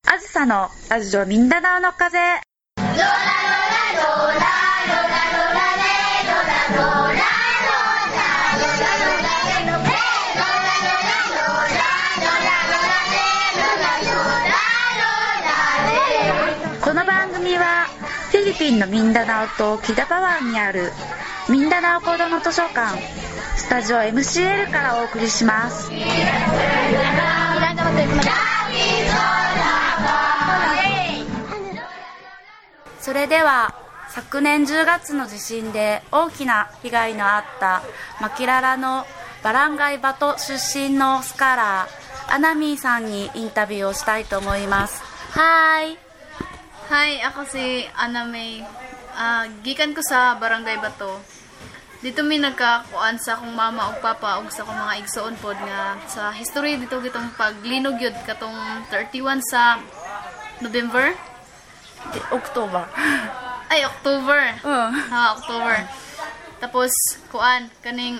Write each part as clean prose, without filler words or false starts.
あずさのラジオミンダナオの風。この番組はフィリピンのミンダナオとキダパワンにあるミンダナオ子ども図書館スタジオ MCL からお送りします。それでは昨年10月の地震で大きな被害のあったマキララのバランガイバト出身のスカラーアナミーさんにインタビューをしたいと思います。Hi! Hi, ako si Anna May. Gikan ko sa Barangay Bato. Dito may nagkakuan sa akong mama ug papa ug sa akong mga igsoon pod nga sa history dito gitong paglinog yun katong 31 sa November? October. Ay, October. October. Tapos kuan kaning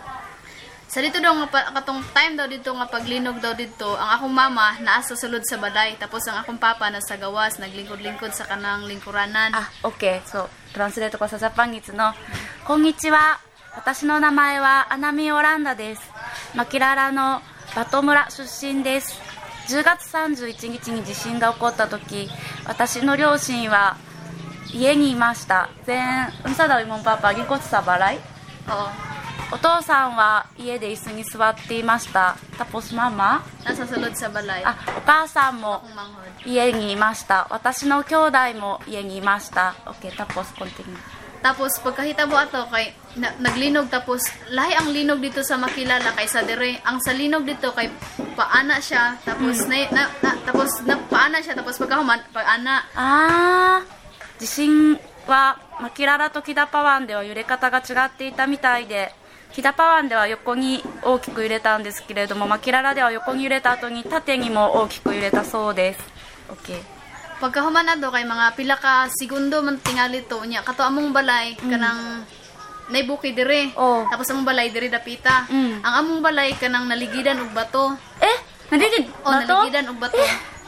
sa dito daw nga katong time daw dito nga paglinog daw dito ang akong mama naa sa sulod sa balay tapos ang akong papa nasa gawas naglingkod-lingkod sa kanang lingkuranan. OK そうトランスレートこそジャパンギツのこんにちは、私の名前はアナミオランダです。マキララのバト村出身です。10月31日に地震が起こった時、私の両親は家にいました。Unsa daw imong papa gikot sa balay?お父さんは家で椅子に座っていました。Tapos mama? Nasa sulod sa balay. お母さんも家にいました。私の兄弟も家にいました。Okay, tapos continue. Tapos pagkahitabo ato kay naglinog tapos lahi ang linog dito sa Makilala kaysa dire. Ang sa linog dito kay paana siya tapos tapos paana siya tapos pagkahuman paana. 地震はマキララとキダパワンでは揺れ方が違っていたみたいで、キダパワンでは横に大きく揺れたんですけれども、マキララでは横に揺れた後に縦にも大きく揺れたそうです。 OK. Pagkahuman na do kay mga pila ka segundo man tingali to nya kato among balay kanang naibuki dire. Tapos among balay dire dapita. Ang among balay kanang naligidan og bato. Naligidan og bato.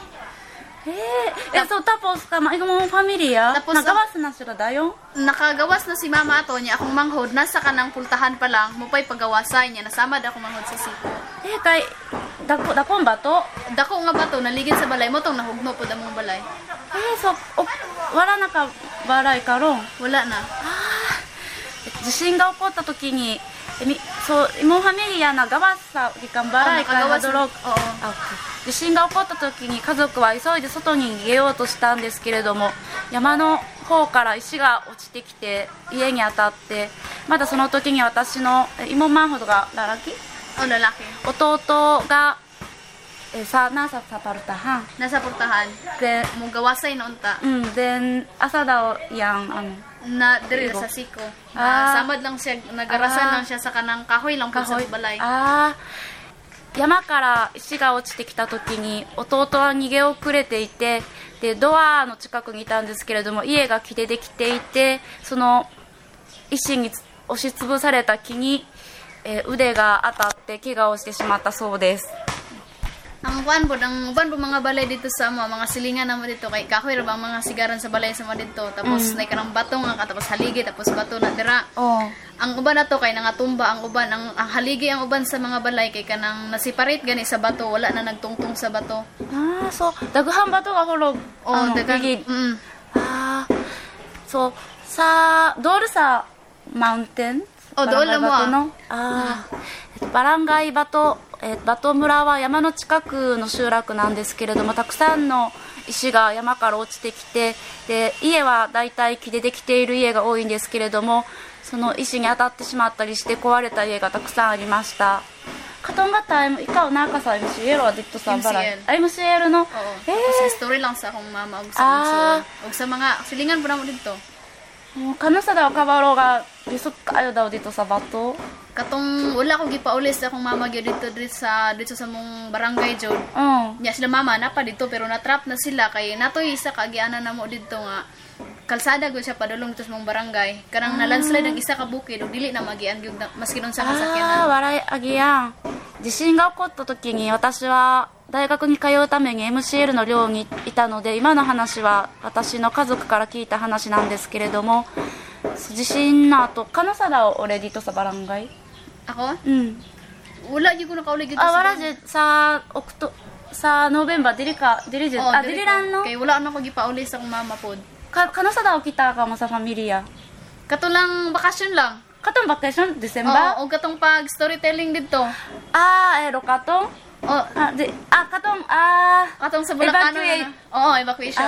So tapos ikaw mong pamilya nagawas na sila dayon? Nakagawas na si mama ato niya akong manghod nasa kanang pultahan pa lang mupay pagawasay niya nasamad ako manghod sa siko. Kay dakong bato? Dako nga bato naligid sa balay mo tong nahugno pod among balay. So wala na ka balay karon? Wala na. 地震が起こった時にimong pamilya nagawas sa gikan balay kay hadulog. 地震が起こった時に家族は急いで外に逃げようとしたんですけれども、山の方から石が落ちてきて家に当たって、まだその時に私の妹manほどがlalaki?弟がnasa pultahan. Nasa pultahan. Then mugawasay noon ta. Then asa daw yang na diri sa siko. Samad lang siya nagarasan lang siya sa kanang kahoy lang po sa balay. 山から石が落ちてきた時に弟は逃げ遅れていて、でドアの近くにいたんですけれども家が木でできていて、その石に押しつぶされた木に、腕が当たって怪我をしてしまったそうです。 Ang uban po mga balay dito sa mga silingan naman dito kay kahoy ra bang mga sigaran sa balay sa mga dito tapos nay kanang bato nga tapos haligi tapos bato na dira. Ang uban nato kay nangatumba ang uban ang haligi ang uban sa mga balay kay kanang nasiparate gani sa bato wala na nagtungtong sa bato. So daghan bato nga hulog. Daghan. So sa doon sa mountain doon lang mo. バランガイバト村は山の近くの集落なんですけれども、たくさんの石が山から落ちてきて、で家はだいたい木でできている家が多いんですけれども、その石に当たってしまったりして壊れた家がたくさんありました。Katong nga time, ikaw naka sa MCL o dito sa Baray? MCL no? Kasi story lang sa akong mama og sa mga silingan po na mo dito. Kanusa daw kabalo ga lisod kayo daw dito sa bato? Katong wala ko gipaulis sa akong mama gyud dito sa mong barangay jud. Nya sila mama na pa dito pero natrap na sila kay natoy isa ka agianan namo dito nga kalsada gyud siya padulong dito sa mong barangay. Kanang na landslide ang isa ka bukid ug dili na magian gyud maski nun sa kasakyanan. 笑いあげやん。地震が起こった時に私は大学に通うために MCL の寮にいたので、今の話は私の家族から聞いた話なんですけれども、地震の後, kano sa daw uli dito sa barangay? Ako? Wala yung ko nakauli dito wala sa November, dili lang no? Kaya wala na ko gipauli sa akong mama pod. Kano sa daw kita ka mo sa pamilya? Katulang bakasyon lang. Katong vacation, December? Oo, o katong pag storytelling dito. Katong? Katong sa Bulacan na. Oo, evacuation.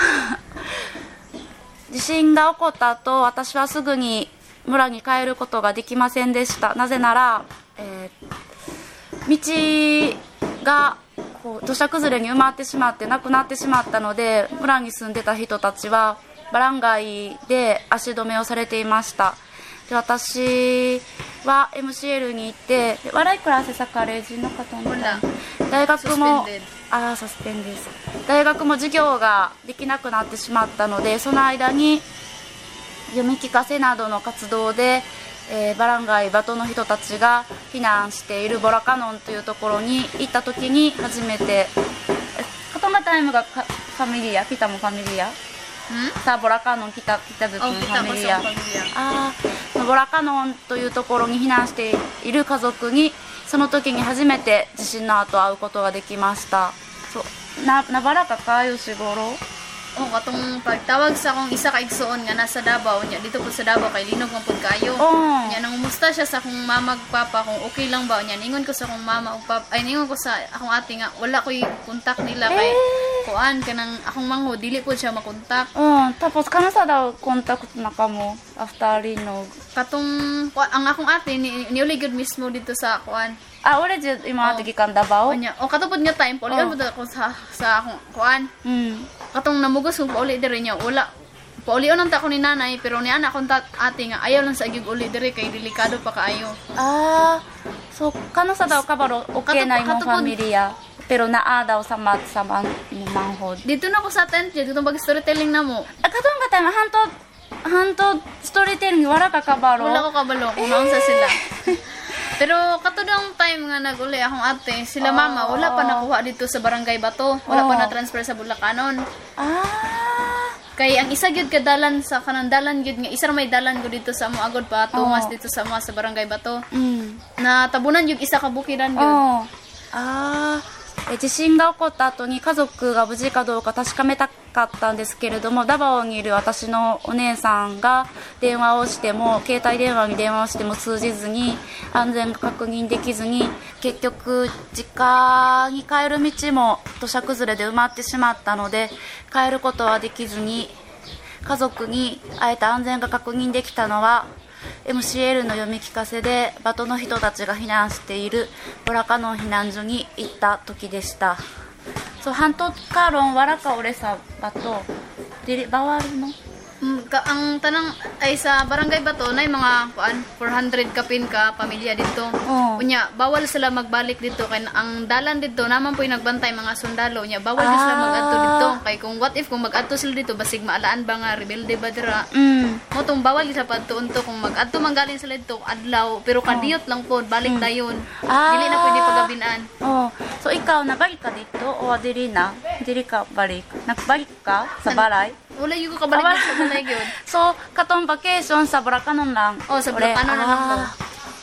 地震が起こった後、私はすぐに村に帰ることができませんでした。なぜなら、道が土砂崩れに埋まってしまってなくなってしまったので、村に住んでた人たちはバラン街で足止めをされていました。で、私は MCL に行って、笑いクラスさカレージの方も大学もサスペンです。大学も授業ができなくなってしまったので、その間に読み聞かせなどの活動で、バラン街バトの人たちが避難しているボラカノンというところに行った時に初めて、カトマタイムがファミリア、ピタもファミリア、さあボラカノン来た時のファミリア、ボラカノンというところに避難している家族にその時に初めて地震の後会うことができました。そうなばらかkayo siguro? Katong pagtawag sa akong isa ka igsoon nga nasa Davao nya dito po sa Davao kay linog man pud kayo. Nya nangumusta siya sa akong mama ug papa kung okay lang ba nya. Ningon ko sa akong mama ug papa, ningon ko sa akong ate nga wala koy kontak nila kay kuan kanang akong mangho dili po siya makontak. Tapos kana sa daw kontak na kamo after linog? Katong ang akong ate niuli gud mismo dito sa kuan. Uli jud imo ate gikan Davao? Nya katupod nga time paulian pud ako sa akong kuan. Katong namugos kung pauli diri niya wala paulion ang tako ni nanay pero ni anak kong ate nga ayaw lang sa agig uli diri kay delikado pa kaayo. So kano sa daw kabaro okay na imong pamilya pero naa daw sa manghod dito na ko sa tent dito bag storytelling na mo katong katang hantod storytelling wala ka kabaro wala ko kabalo kung naunsa sila. Pero katudang time nga nag-uli akong ate, sila mama, wala pa nakuha dito sa Barangay Bato. Wala pa na-transfer sa Bulacanon. Kaya ang isa gyud ka dalan sa kanang dalan gyud nga isa may dalan gyud dito sa Moagod pa tungas dito sa mga sa Barangay Bato. Na tabunan gyud isa ka bukiran gyud. 地震が起こった後に家族が無事かどうか確かめたかったんですけれども、ダバオにいる私のお姉さんが電話をしても携帯電話に電話をしても通じずに安全が確認できずに結局実家に帰る道も土砂崩れで埋まってしまったので帰ることはできずに家族に会えた安全が確認できたのはMCL の読み聞かせでバトの人たちが避難しているボラカノン避難所に行った時でした。So, hantot karon wala ka uli sa bato. Dili bawal no? Ang tanang ay sa Barangay Bato na mga 400 kapin ka pamilya dito. Unya bawal sila magbalik dito kay ang dalan dito naman po nagbantay mga sundalo nya bawal sila mag-adto dito kay kung what if kung mag-adto sila dito basig maalaan ba nga rebelde ba dira. Mo tong bawal sa padtuonto kung mag-adto manggaling sila dito adlaw pero kadiyot lang po balik dayon. Dili na pwede pagabinan. So ikaw nabalik ka dito o dili na? Dili ka balik. Nagbalik ka sa balay? Wala yung kabalik sa balay yun. So, katong vacation sa Bulacanon lang? Sa Bulacanon na lang po.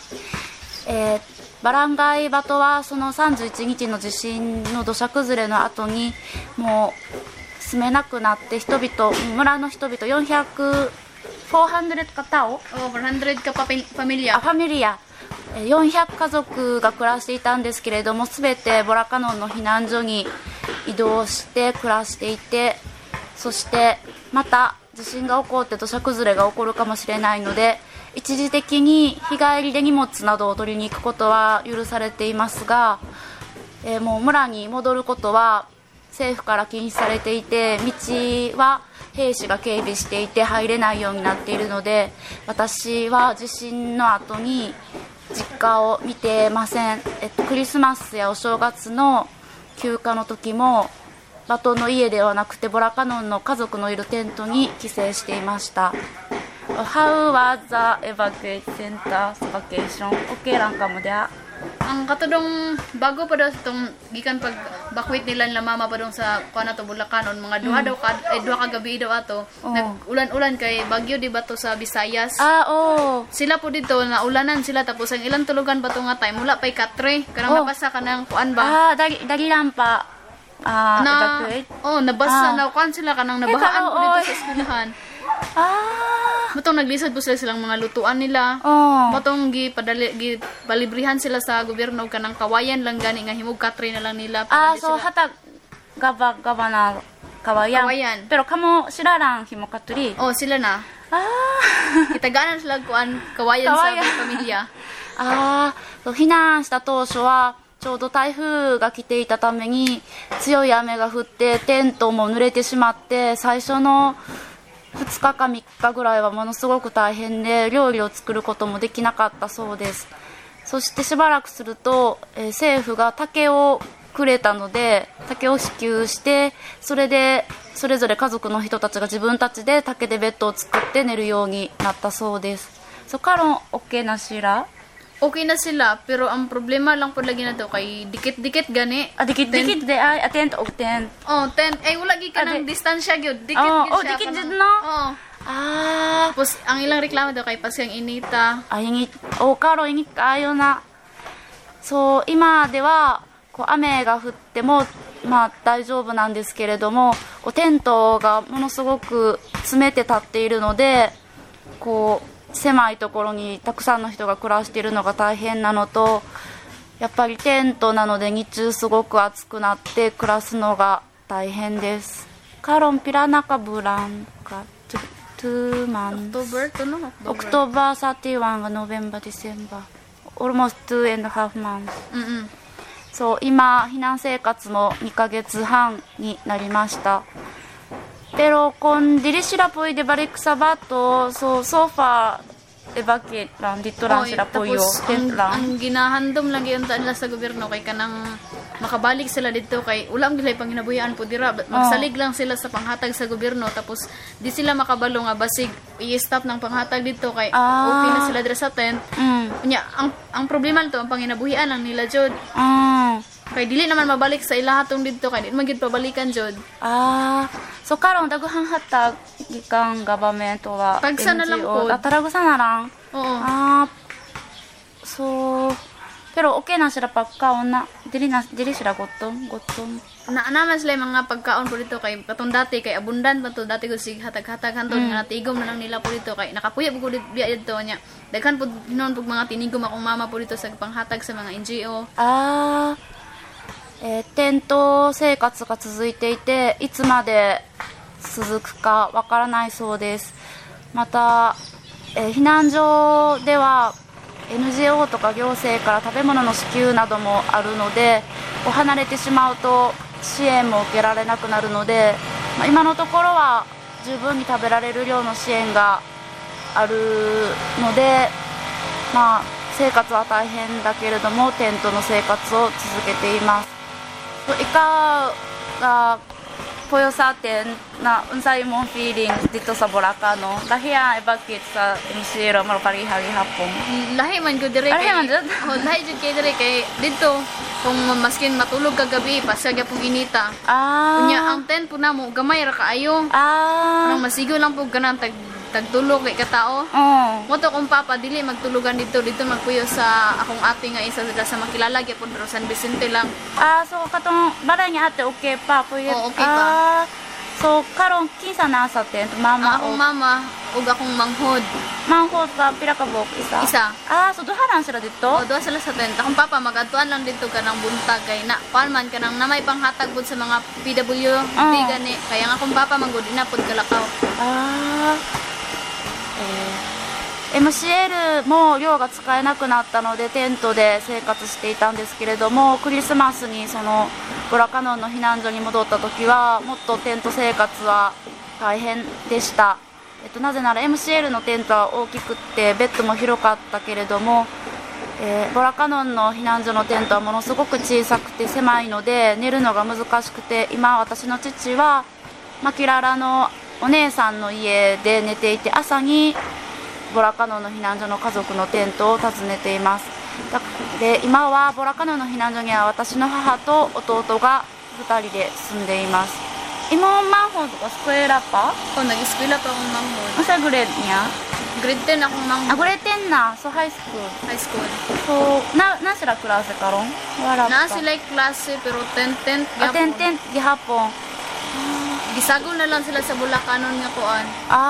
バランガイバトはその31日の地震の土砂崩れの後にもう住めなくなって人々村の人々400かタオ 400かファミリアファミリア400家族が暮らしていたんですけれども全てボラカノンの避難所に移動して暮らしていてそしてまた地震が起こって土砂崩れが起こるかもしれないので一時的に日帰りで荷物などを取りに行くことは許されていますが、もう村に戻ることは政府から禁止されていて道は兵士が警備していて入れないようになっているので私は地震の後に実家を見てません。クリスマスやお正月の休暇の時もバトンの家ではなくてボラカノンの家族のいるテントに帰省していました。How was the evacuation center vacation? Okay lang ka mo dia? Ang katudong bago pa daw itong gikan pag bakwit nila nila mama pa dong sa kuan to Bulacanon mga duha daw duha ka gabi daw ato nag-ulan-ulan kay bagyo di ba to sa Visayas. Sila po dito na ulanan sila tapos ang ilang tulugan pa to nga time wala pay katre kanang nabasa kanang kuan ba dagilan pa evacuate nabasa na kuan sila kanang nabahaan po dito sa eskwelahan. Matong naglisod po sila silang mga lutuan nila. Matong gipalibrihan sila sa gobyerno kanang kawayan lang gani nga himog katre na lang nila. So hatag gaba na kawayan. Pero kamo sila lang himog katri. Sila na. Kitaganan sila kuan kawayan sa pamilya. 避難した当初はちょうど台風が来ていたために強い雨が降ってテントも濡れてしまって最初の2日か3日ぐらいはものすごく大変で料理を作ることもできなかったそうです。そしてしばらくすると、政府が竹をくれたので竹を支給してそれでそれぞれ家族の人たちが自分たちで竹でベッドを作って寝るようになったそうです。So karon okay na sila? Okay na sila, pero ang problema lang po lagi na to kay dikit-dikit gani. Dikit-dikit de ay tent og tent. Tent. Ay wala gi ka ng distansya gyud. Dikit gyud siya. Dikit gyud no. Tapos ang ilang reklamo daw kay pasyang inita. Ingit. Karo ingit kayo na. So 今ではこう雨が降っても大丈夫なんですけれども、こうテントがものすごく詰めて立っているので、こう狭いところにたくさんの人が暮らしているのが大変なのと、やっぱりテントなので日中すごく暑くなって暮らすのが大変です。Karon pila na ka bulan ka? 2 months. October 31 が November December. Almost 2.5 months. So 今避難生活も2ヶ月半になりました。Pero kung dili sila pwede balik sa bato, so far evacuate lang, dito lang sila puyo, tent lang. Ang ginahandom lang yun nila sa gobyerno kay kanang makabalik sila dito kay ulam gilay pang hinabuhian po dira, magsalig lang sila sa panghatag sa gobyerno tapos di sila makabalo nga basig i-stop ng panghatag dito kay okay na sila dira sa tent. Nya ang problema nito ang panghinabuhian lang nila jud. Kay dili naman mabalik sa ilahatong dito kay di man gid pabalikan jud. So karon daghan hatag gikang government wa tagsa na lang po. Taragusa na lang. So pero okay na sila pagkaon na dili sila gutom. Naman sila mga pagkaon po dito kay katong dati kay abundant pa to dati gud sig hatag-hatag hanton nga natigom na lang nila po dito kay nakapuya po dito nya. Daghan po noon pug mga tinigom akong mama po dito sa panghatag sa mga NGO. テント生活が続いていていつまで続くかわからないそうです。また、避難所では NGO とか行政から食べ物の支給などもあるので離れてしまうと支援も受けられなくなるので、今のところは十分に食べられる量の支援があるので、生活は大変だけれどもテントの生活を続けています。Ikaw puyo sa atin na unsay imong feelings dito sa Bulacan no? Lahi ang evacuate sa MCR mo parihagi hapon. Lahi man gud dire kay. Lahi jud kay dire kay dito kung maskin matulog kagabi pasagya pong inita. Unya ang tent po namo gamay ra kaayo. Nang masigo lang po ganan tagtulog kay katao. Moto kung papa dili magtulugan dito magpuyo sa akong ate nga isa sa makilala gyapon pero San Vicente lang. So katong balay nga ate okay pa puyo. Okay pa. So karon kinsa na sa tent mama akong mama ug akong manghod. Manghod ka pila ka buok isa. So duha lang sila dito. Duha sila sa tent. Akong papa magadtuan lang dito kanang buntag kay na palman kanang namay panghatag pud sa mga PW gani kaya nga akong papa manggod ina pud kalakaw. MCL も寮が使えなくなったのでテントで生活していたんですけれどもクリスマスにそのブラカノンの避難所に戻った時はもっとテント生活は大変でした。なぜなら MCL のテントは大きくってベッドも広かったけれども、ボラカノンの避難所のテントはものすごく小さくて狭いので寝るのが難しくて今私の父はマキララのお姉さんの家で寝ていて朝にボラカノンの避難所の家族のテントを訪ねています。で今はボラカノンの避難所には私の母と弟が 2人で住んでいます。Imo manghod ko eskwela pa? Oh, nag-eskwela pa akong manghod. Sa grade niya? Grade 10 akong manghod. Grade 10 na. So, high school. High school. So, na sila klase karon? Wala pa. Na sila klase, pero 10 gihapon. 10 gihapon. Gisagol na lang sila sa Bulacanon nga kuan.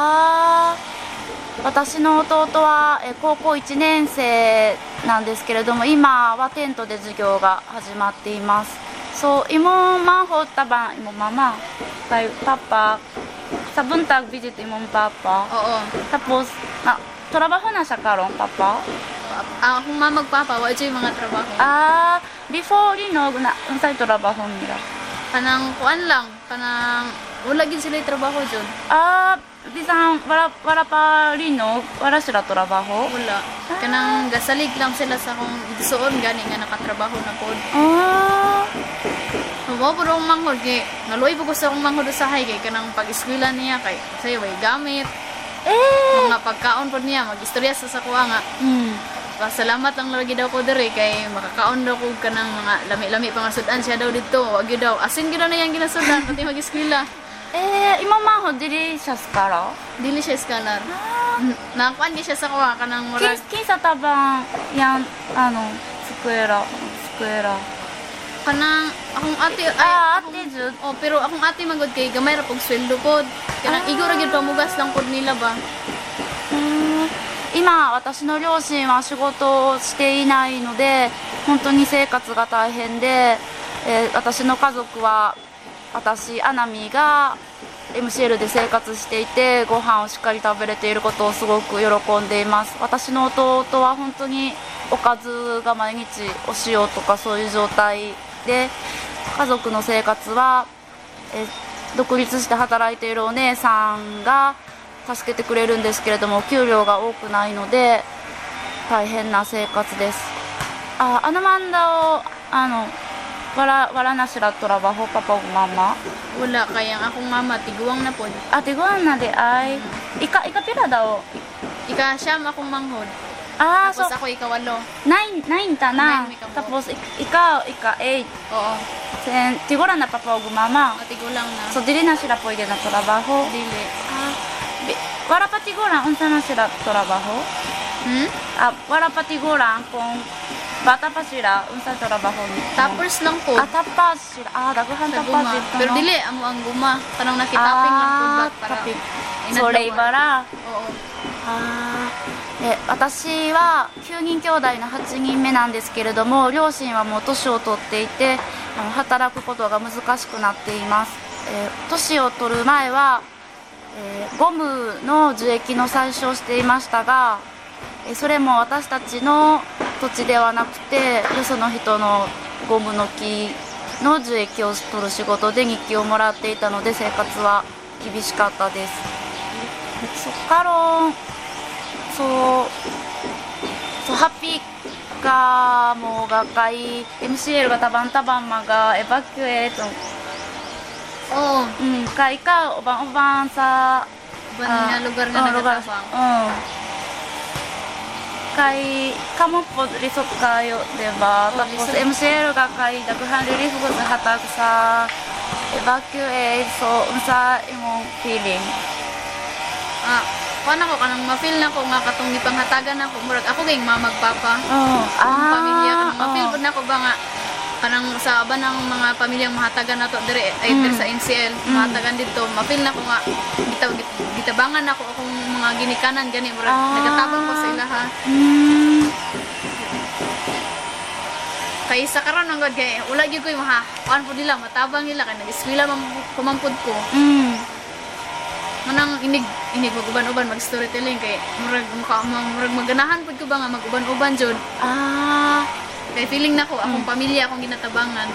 私の弟は高校1年生なんですけれども、今はテントで授業が始まっています。So, imo manghod tabang imo mama kay papa sa buntag visit imong papa. Oo. Tapos trabaho na siya karon papa. Akong mama magpapa wa jay mga trabaho. Before linog na unsay trabaho nila? Kanang kuan lang, kanang wala gid sila trabaho jud. Bisan wala pa linog, wala sila trabaho. Wala. Kanang gasalig lang sila sa akong igsuon gani nga nakatrabaho na pod. Mo po rong manghod kay naluoy po ko sa akong manghod usahay kay kanang pag-eskwela niya kay sayo way gamit. Mga pagkaon pod niya mag-istorya sa kuha nga. Salamat lang lagi daw ko diri kay makakaon daw ko kanang mga lami-lami pangasudan siya daw dito. Wag gyud daw asin gyud na yang ginasudan pati mag-eskwela. Imo manghod dili siya scholar? Dili siya scholar. Nakuan siya sa kuha kanang murag. Kinsa tabang yang eskwela. Kanang akong ate ate jud. Pero akong ate magod kay gamay ra pog sweldo pod. Kanang igor gyud pamugas lang pod nila ba. 今私の両親は仕事をしていないので本当に生活が大変で、私の家族は私アナミが MCL で生活していてご飯をしっかり食べれていることをすごく喜んでいます。私の弟は本当におかずが毎日お塩とかそういう状態で家族の生活は、独立して働いているお姉さんが助けてくれるんですけれども給料が多くないので大変な生活です。Ano man daw wala na sila trabaho papa o mama? Wala kaya akong mama tiguang na pod. Tiguang na di ay ika pila daw? Ika siyam akong manghod. So Tapos ako ikawalo. 9 ta na. Tapos ika 8. Oo. Then tigulang na papa o mama? Tigulang na. So dili na sila pwede na trabaho? Dili. Wala pa tigulang unsa na sila trabaho? Wala pa tigulang kung bata pa sila unsa trabaho ni? Tappers lang po. Tappers sila. Daghan tappers dito. Pero dili amo ang guma. Kanang nakitaping lang po ba para. So labor ra. Oo. 私は9人兄弟の8人目なんですけれども両親はもう年を取っていて働くことが難しくなっています。年を取る前はゴムの樹液の採取をしていましたが、それも私たちの土地ではなくてよその人のゴムの木の樹液を取る仕事で日給をもらっていたので生活は厳しかったです。そっからhappy ka mo kay MCL ga tabang-tabang mag-evacuate. Kay ikaw ubang-ubang sa lugar nga nagatabang. Kay kamo po lisod kayo, diba? Tapos MCL ga kay daghan relief ko sa hatag sa evacuate. So unsa imong feeling? Paano ko kanang ma-feel na ko nga katong gipanghatagan ako murag ako kay mamagpapa. Pamilya kanang ma-feel pud nako ba nga kanang sa aban ng mga pamilyang mahatagan nato dire sa NCL mahatagan dito ma-feel na ko nga gitabangan ako akong mga ginikanan gani murag nagatabang ko sa ilaha. Kay sa karon ang god kay wala gyud ko kuan pud nila matabang nila kay nag-eskwela pamampud ko. Manang inig mag-uban-uban mag-storytelling kay murag maganahan pud ko ba nga mag-uban-uban jud. Kay feeling nako akong pamilya akong ginatabangan.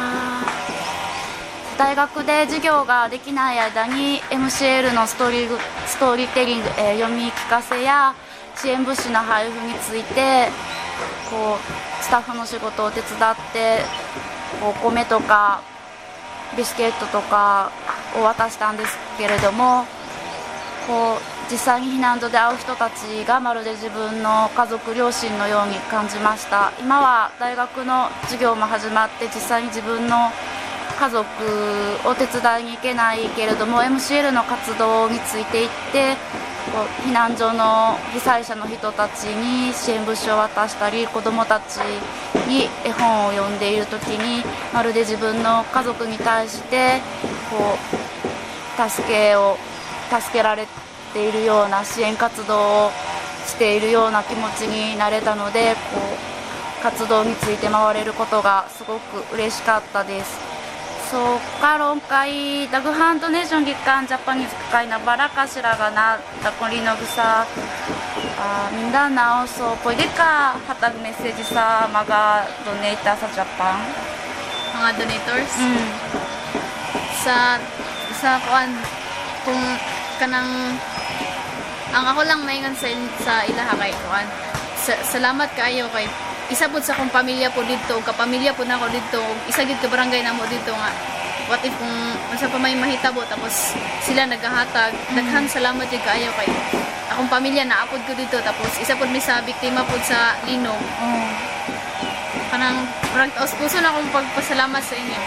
大学で授業ができない間に MCL のストーリーテリング、読み聞かせや支援物資の配布についてこうスタッフの仕事を手伝ってお米とかビスケットとかを渡したんですけれどもこう実際に避難所で会う人たちがまるで自分の家族両親のように感じました。今は大学の授業も始まって実際に自分の家族を手伝いに行けないけれども MCL の活動についていってこう避難所の被災者の人たちに支援物資を渡したり子どもたちに絵本を読んでいる時にまるで自分の家族に対してこう助けられているような支援活動をしているような気持ちになれたのでこう活動について回れることがすごく嬉しかったです。そうか론会ダグハンドネーション月間ジャパニーズ会なバラかしらがなだこりのぐさMindanao so pwede ka hatag message sa mga donator sa Japan? Mga donators? Sa kuan kung kanang ang ako lang maingon sa ilaha kay kuan salamat kaayo kay isa pud sa akong pamilya po dito kapamilya po nako dito isa gid ka barangay namo dito nga what if kung unsa pa may mahitabo tapos sila nagahatag daghang salamat jud kaayo kay akong pamilya naapod ko dito tapos isa pud mi sa biktima pud sa linog kanang puso na akong pagpasalamat sa inyo.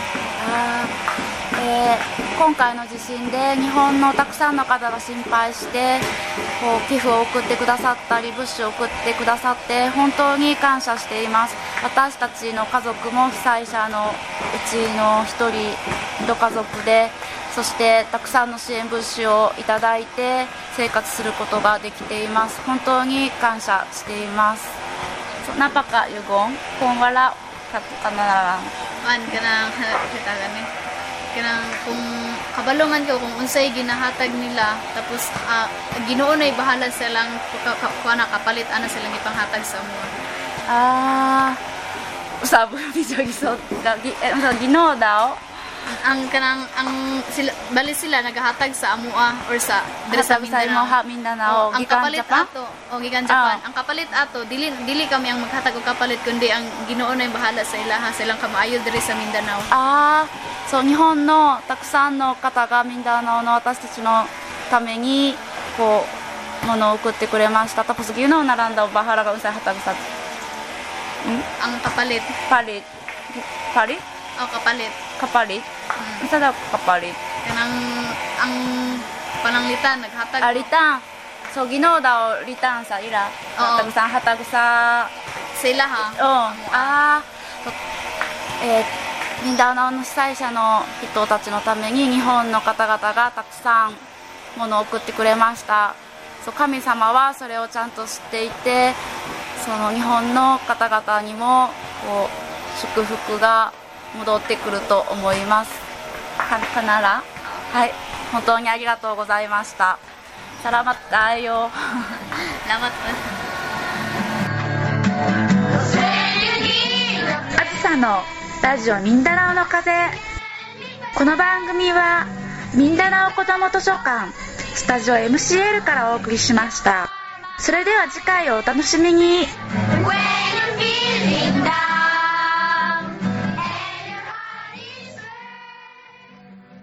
今回の地震で日本のたくさんの方が心配してこう寄付を送ってくださったり物資を送ってくださって本当に感謝しています。私たちの家族も被災者のうちの一家族でそしてたくさんの支援物資をいただいて生活することができています。本当に感謝しています。Napaka yugong kung wala kanang kanang kung kabalungan ko kung unsay ginahatag nila tapos Ginoo nay bahala silang kuana kapalit ana silang ipanghatag sa amo. Usabo ni Jogisot Ginoo daw ang sila bali sila nagahatag sa amoa or sa dire sa Mindanao ang kapalit ato gikan Japan ang kapalit ato dili kami ang maghatag og kapalit kundi ang Ginoo nay bahala sa ilaha silang kamaayo dire sa Mindanao. そう日本のたくさんの方がミンダナオの私たちのためにこう物を送ってくれました。Tapos Ginoo naran daw bahala ka unsay hatag sa ang kapalit kapalit unsa daw kapalit kanang ang pananglitan naghatag alitan so Ginoo daw litan sa ila hatag sa sila ha ミンダナオの被災者の人たちのために日本の方々がたくさん物を送ってくれました。神様はそれをちゃんと知っていてその日本の方々にもこう祝福が戻ってくると思います。かならはい本当にありがとうございました。Salamat tayo. Salamat. あずさのラジオミンダナオの風。この番組はミンダナオ子ども図書館スタジオ MCL からお送りしました。それでは次回をお楽しみに。